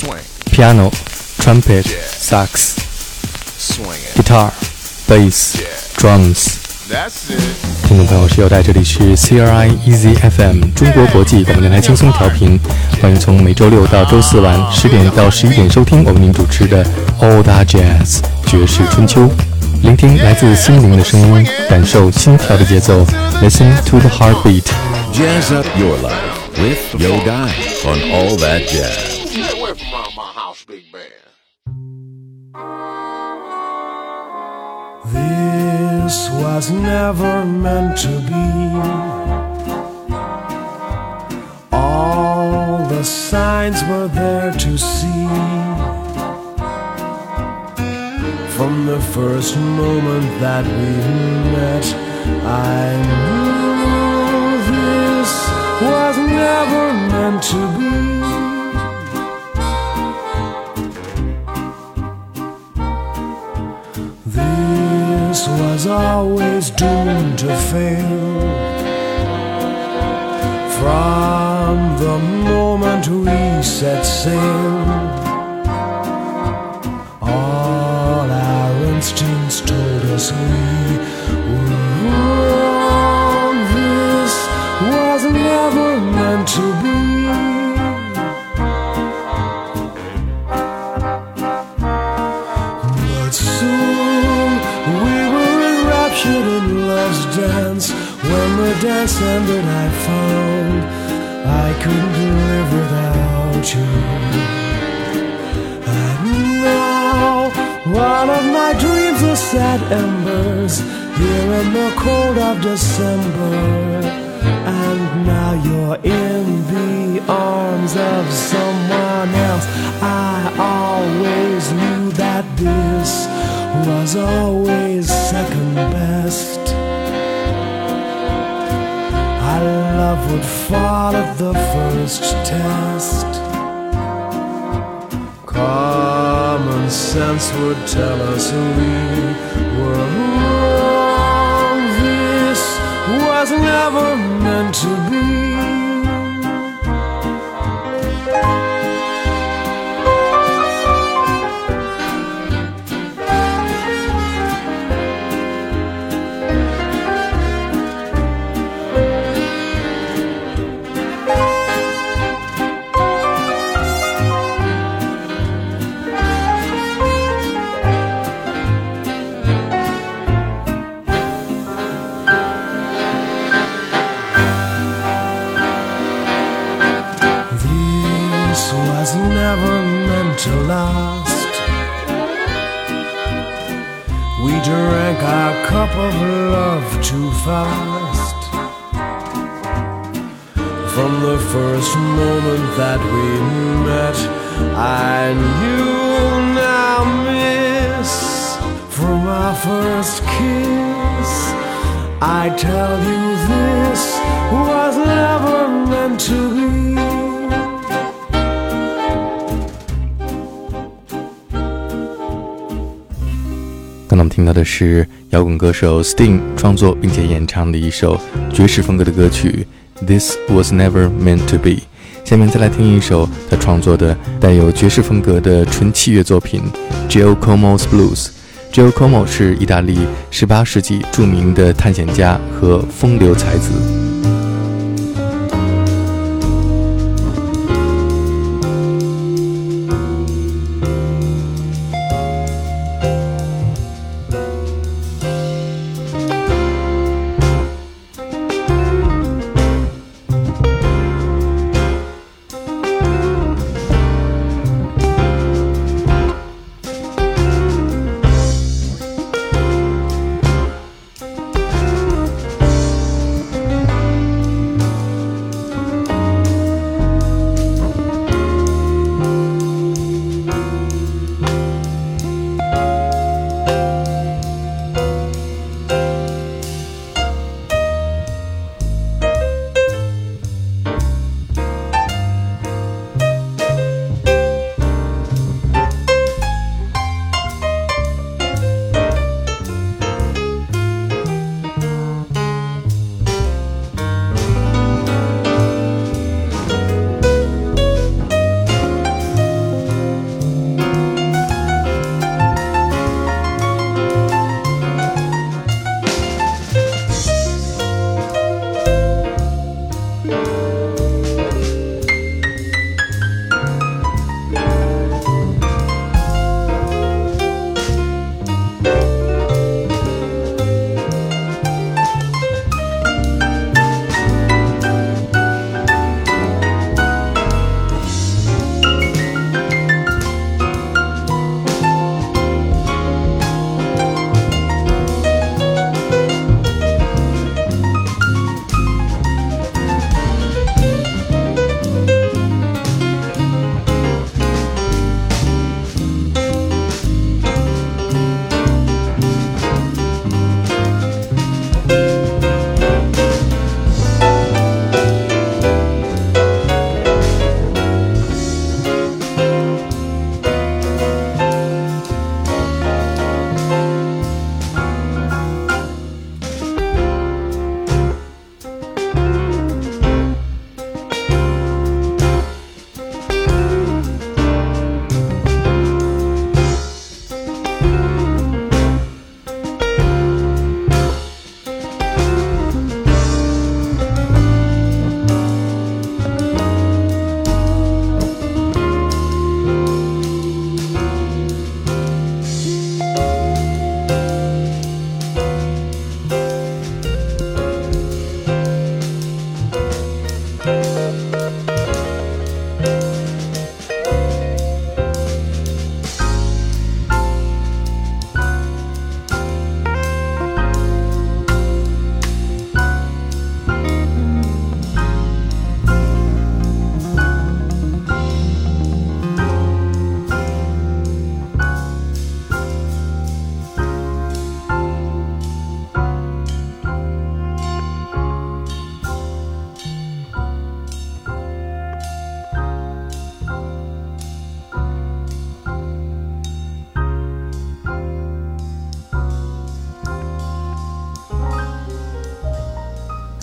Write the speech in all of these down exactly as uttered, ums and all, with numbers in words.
piano, trumpet, sax, guitar, bass, drums。听众朋友，是有在这里是 C R I Easy F M 中国国际广播电台轻松调频，欢迎从每周六到周四晚十点到十一点收听我们您主持的 All That Jazz 爵士春秋，聆听来自心灵的声音，感受心跳的节奏 Listen to the heartbeat. Jazz up your life with Yo Guy on All That Jazz. Get away from around my house, big band. This was never meant to be. All the signs were there to see. From the first moment that we met, I knew this was never meant to be. This was always doomed to fail. From the moment we set sail, all our instincts told us we were wrong. This was never meant to be. But soon we were enraptured in love's dance. When the dance ended, I found I couldn't live without you. And now one of my dreams are sad embers here in the cold of December. And now you're in the arms of someone else. I always knew that this was always second best. Our love would fall at the first test. Common sense would tell us we were wrong. This was never meant to be. Never meant to last. We drank our cup of love too fast. From the first moment that we met, I knew now, miss. From our first kiss, I tell you this was never meant to be. 刚才我们听到的是摇滚歌手 Sting 创作并且演唱的一首爵士风格的歌曲 This Was Never Meant to Be。 下面再来听一首他创作的带有爵士风格的纯器乐作品 Giacomo's Blues。 Giacomo 是意大利十八世纪著名的探险家和风流才子。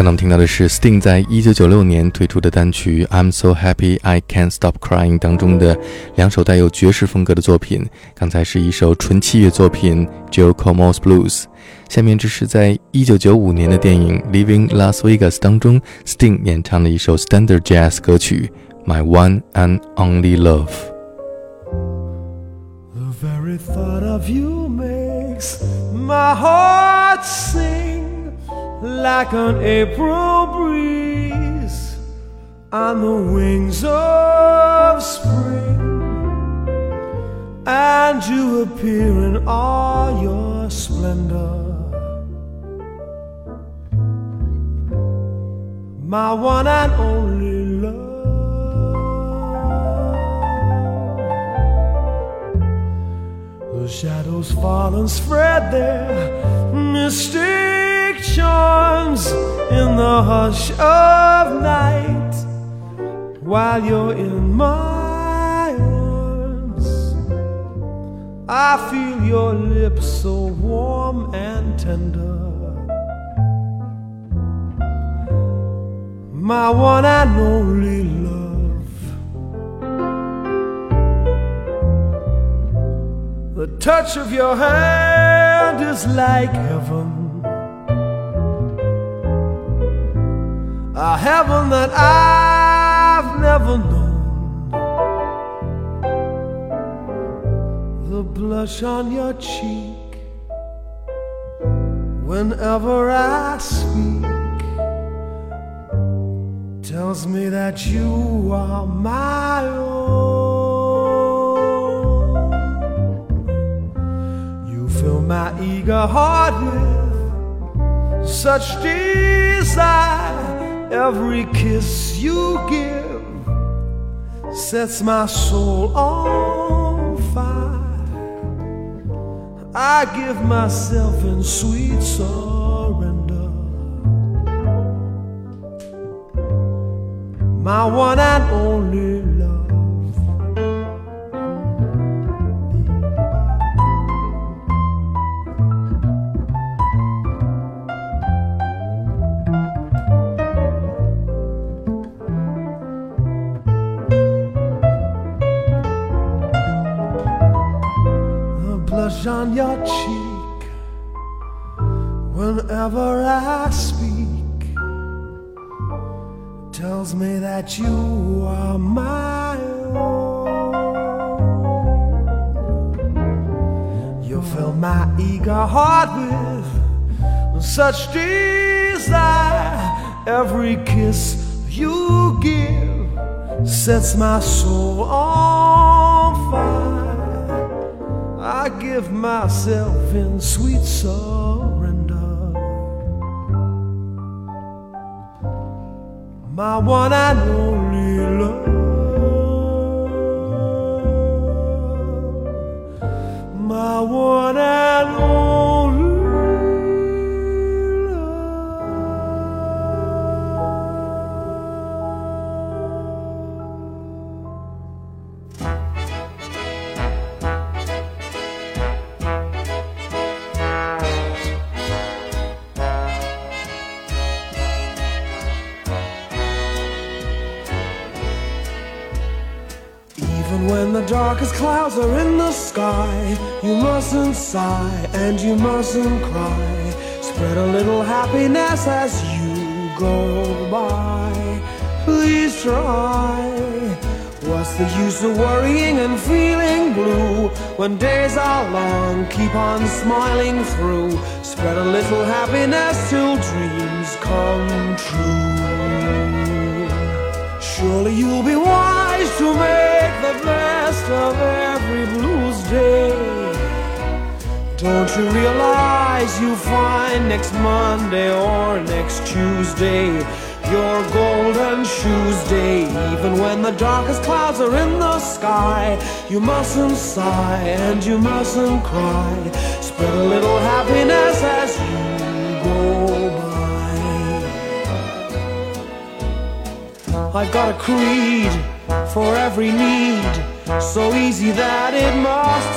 呢，我们听到的是 Sting 在一九九六年推出的单曲 I'm So Happy I Can't Stop Crying 当中的两首带有爵士风格的作品。刚才是一首纯器乐作品 Joe Como's Blues， 下面这是在一九九五年的电影 Leaving Las Vegas 当中 Sting 演唱的一首 Standard Jazz 歌曲 My One and Only Love。 The very thought of you makes my heart sing like an April breeze on the wings of spring, and you appear in all your splendor, my one and only love. The shadows fall and spread their mystic charms in the hush of night, while you're in my arms. I feel your lips so warm and tender, my one and only love. The touch of your hand is like heaven, a heaven that I've never known. The blush on your cheek whenever I speak tells me that you are my own. You fill my eager heart with such desire. Every kiss you give sets my soul on fire. I give myself in sweet surrender, my one and only love. The blush on your cheek whenever I speak tells me that you are my own. You fill my eager heart with such desire. Every kiss you give sets my soul on fire. I give myself in sweet surrender, my one and only love, my one and only love. Even when the darkest clouds are in the sky, you mustn't sigh and you mustn't cry. Spread a little happiness as you go by. Please try. What's the use of worrying and feeling blue when days are long? Keep on smiling through. Spread a little happiness till dreams come true. Surely you'll be wise to make the best of every blues day. Don't you realize you'll find next Monday or next Tuesday your golden shoes day? Even when the darkest clouds are in the sky, you mustn't sigh and you mustn't cry. Spread a little happiness as you go by. I've got a creed for every need, so easy that it must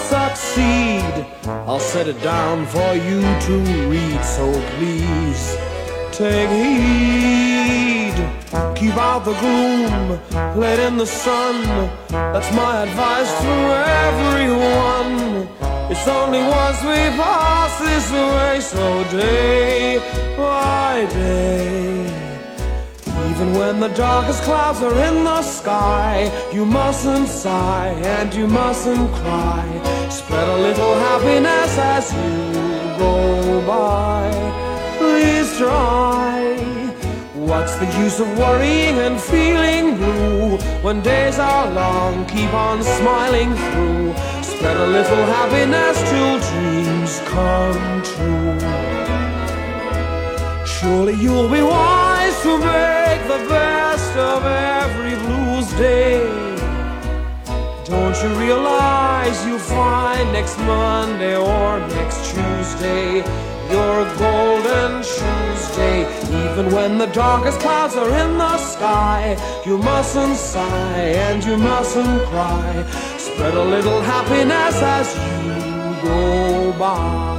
succeed. I'll set it down for you to read, so please take heed, keep out the gloom, let in the sun. That's my advice to everyone. It's only once we pass this way, so day by day, even when the darkest clouds are in the sky, you mustn't sigh and you mustn't cry. Spread a little happiness as you go by. Please try. What's the use of worrying and feeling blue when days are long? Keep on smiling through. Spread a little happiness till dreams come true. Surely you'll be wise to make the best of every blues day. Don't you realize you'll find next Monday or next Tuesday your golden Tuesday? Even when the darkest clouds are in the sky, you mustn't sigh and you mustn't cry. Spread a little happiness as you go by.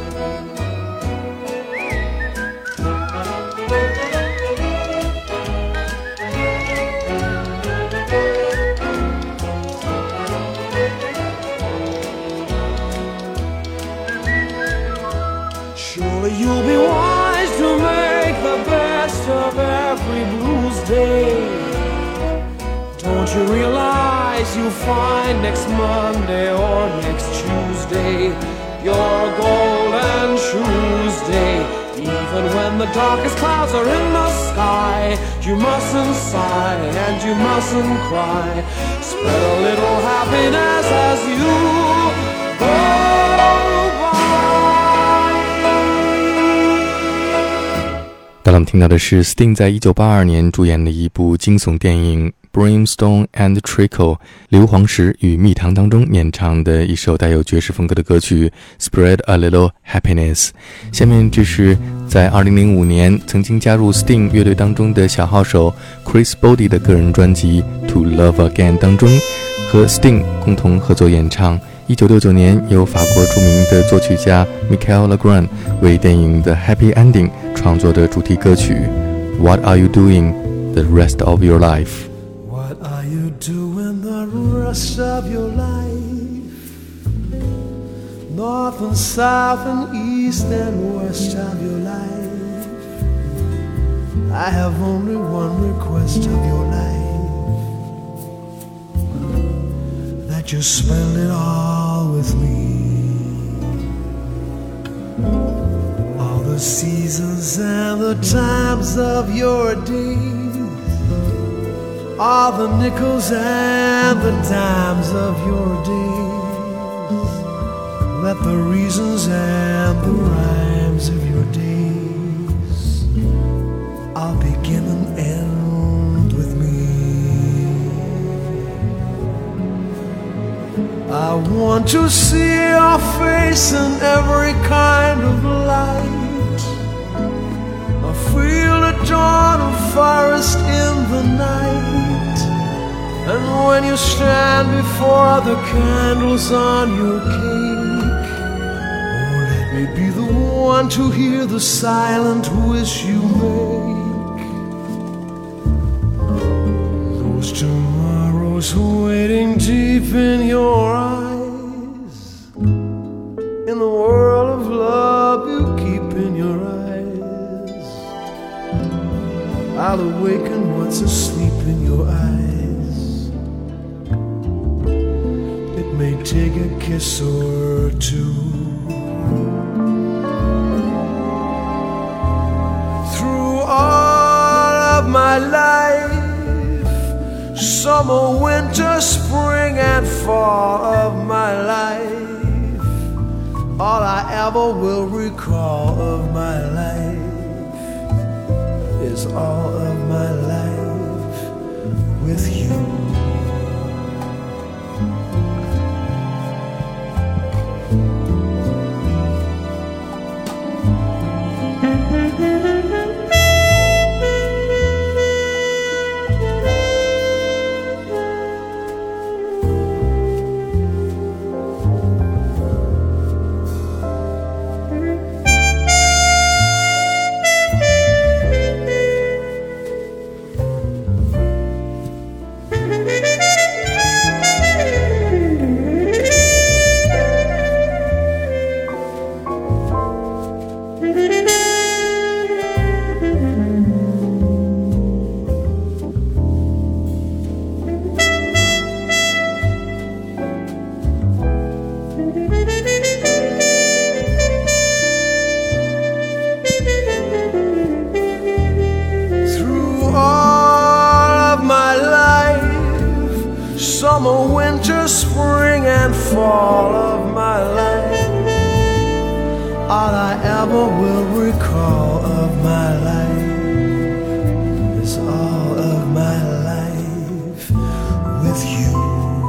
Surely you'll be wise to make the best of every blues day. Don't you realize you'll find next Monday or next Tuesday your golden Tuesday? Even when the darkest clouds are in the sky, you mustn't sigh and you mustn't cry. Spread a little happiness as you go by. 刚刚听到的是 Sting 在一九八二年主演的一部惊悚电影 Brimstone and Treacle 硫磺石与蜜糖当中演唱的一首带有爵士风格的歌曲 Spread a Little Happiness。 下面这是在二零零五年曾经加入 Sting 乐队当中的小号手 Chris Body 的个人专辑 To Love Again 当中和 Sting 共同合作演唱一九六九年由法国著名的作曲家 Michel Legrand 为电影的 Happy Ending 创作的主题歌曲 What Are You Doing the Rest of Your Life？ What are you doing the rest of your life? North and south and east and west of your life. I have only one request of your life, that you spend it all with me. All the seasons and the times of your days, all the nickels and the dimes of your days. Let the reasons and the rhymes of your days all begin and end with me. I want to see your face in every kind of light. I feel the dawn of forest in the night. And when you stand before the candles on your cake, oh, let me be the one to hear the silent wish you make. Those tomorrows waiting deep in your eyes, in the world of love you keep in your eyes. I'll awaken what's asleep in your eyes. It may take a kiss or two. Through all of my life, summer, winter, spring, and fall of my life, all I ever will recall of my life is all of my life with you. and fall of my life. All I ever will recall of my life is all of my life with you.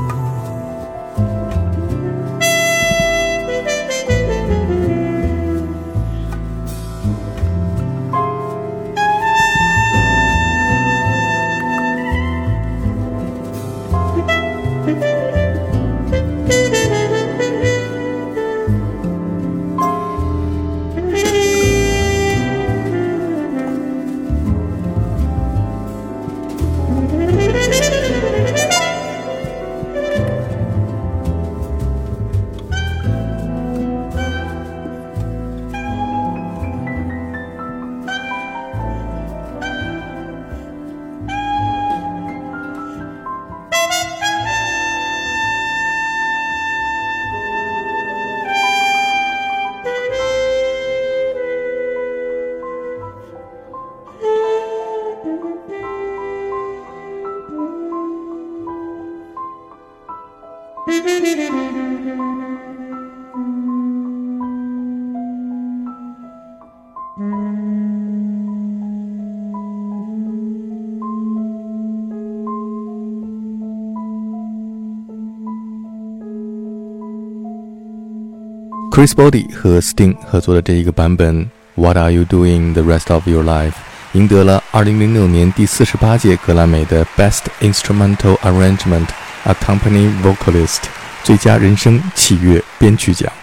Chris Body 和 Sting 合作的这一个版本 What Are You Doing the Rest of Your Life 赢得了二零零六年第四十八届格莱美的 Best Instrumental Arrangement Accompanying Vocalist 最佳人声器乐编曲奖。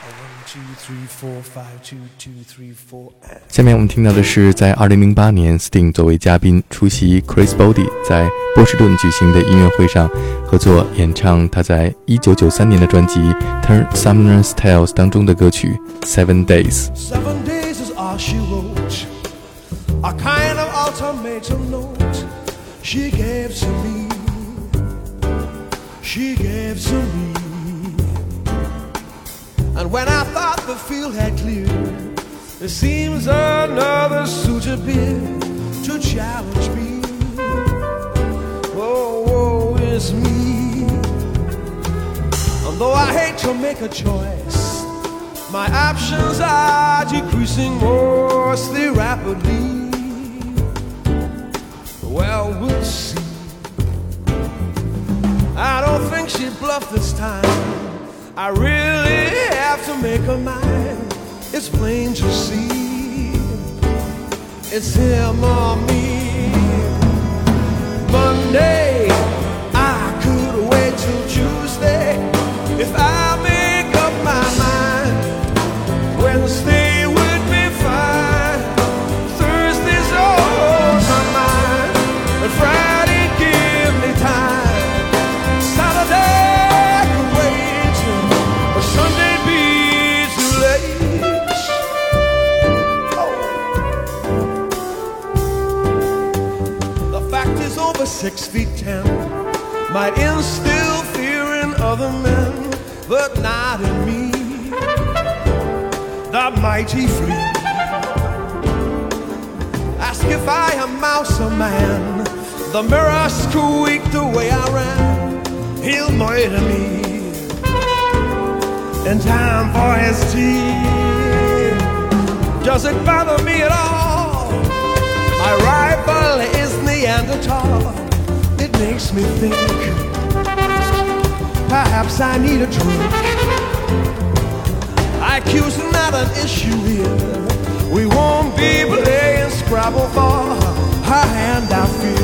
下面我们听到的是在二零零八年 Sting 作为嘉宾出席 Chris Body 在波士顿举行的音乐会上合作演唱他在一九九三年的专辑 Turn Sumner's Tales 当中的歌曲 Seven Days。 Seven days is all she wrote, a kind of ultimatum note she gave to me, she gave to me. And when I thought the field had cleared, there seems another suit appeared to challenge me. Oh, woe is me. And though I hate to make a choice, my options are decreasing mostly rapidly. Well, we'll see. I don't think she bluffed this time. I really have to make her mine. It's plain to see it's him or me. Monday, I could wait till Tuesday. If I make up my mind, Wednesday would be fine. Thursday's on my mind, and Friday give me time. Saturday Sunday be too late. Oh. The fact is over six feet ten might instill fear in other men, but not in me. The mighty flea. Ask if I am mouse or man. The mirror squeaked the way I ran. He'll murder me in time for his tea. Does it bother me at all? My rival is Neanderthal. It makes me think perhaps I need a drink. I Q's not an issue here. We won't be playing Scrabble for her hand, I feel.